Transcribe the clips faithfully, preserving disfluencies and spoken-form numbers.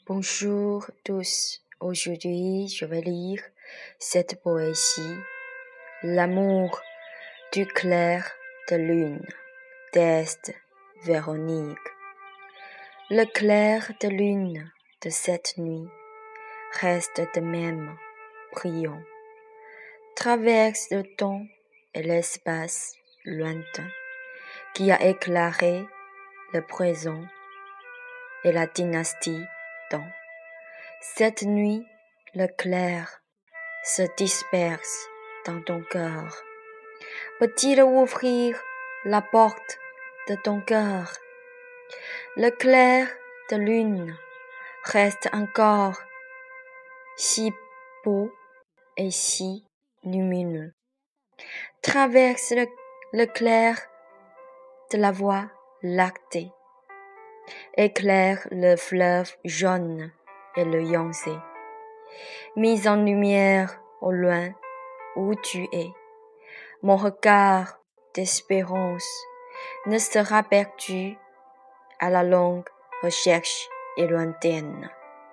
Bonjour tous, aujourd'hui je vais lire cette poésie, L'amour du clair de lune, d'Est Véronique. Le clair de lune de cette nuit reste de même brillant, traverse le temps et l'espace lointain qui a éclairé le présent et la dynastie d'An. Cette nuit, le clair se disperse dans ton cœur. Peut-il ouvrir la porte de ton cœur? Le clair de lune reste encore si beau et si lumineux. Traverse le, le clair de la voie lactée. Éclaire le fleuve jaune et le Yangtze. Mise en lumière au loin où tu es, mon regard d'espérance ne sera perdu à la longue recherche et lointaine.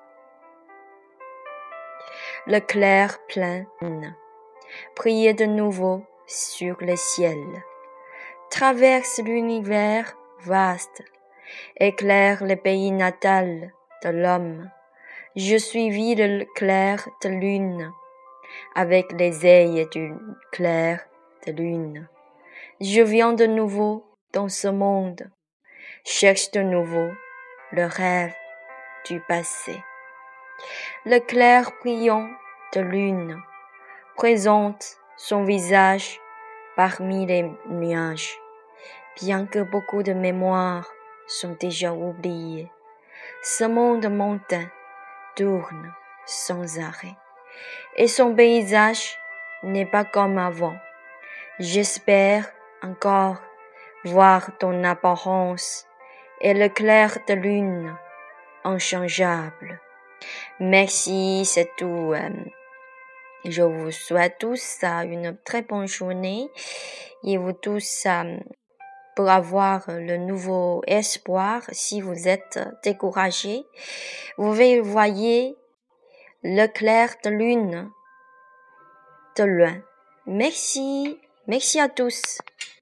Le clair plein brille de nouveau sur le ciel, traverse l'univers vaste, éclaire le pays natal de l'homme. Je suivis le clair de lune, avec les ailes du clair de lune. Je viens de nouveau dans ce monde, cherche de nouveau le rêve du passé. Le clair brillant de lune présente son visage parmi les nuages, bien que beaucoup de mémoires sont déjà oubliées. Ce monde montain tourne sans arrêt, et son paysage n'est pas comme avant. J'espère encore voir ton apparence et le clair de lune inchangeable. Merci, c'est tout. Je vous souhaite tous une très bonne journée et vous tous pour avoir le nouveau espoir. Si vous êtes découragés, vous voyez le clair de lune de loin. Merci, merci à tous.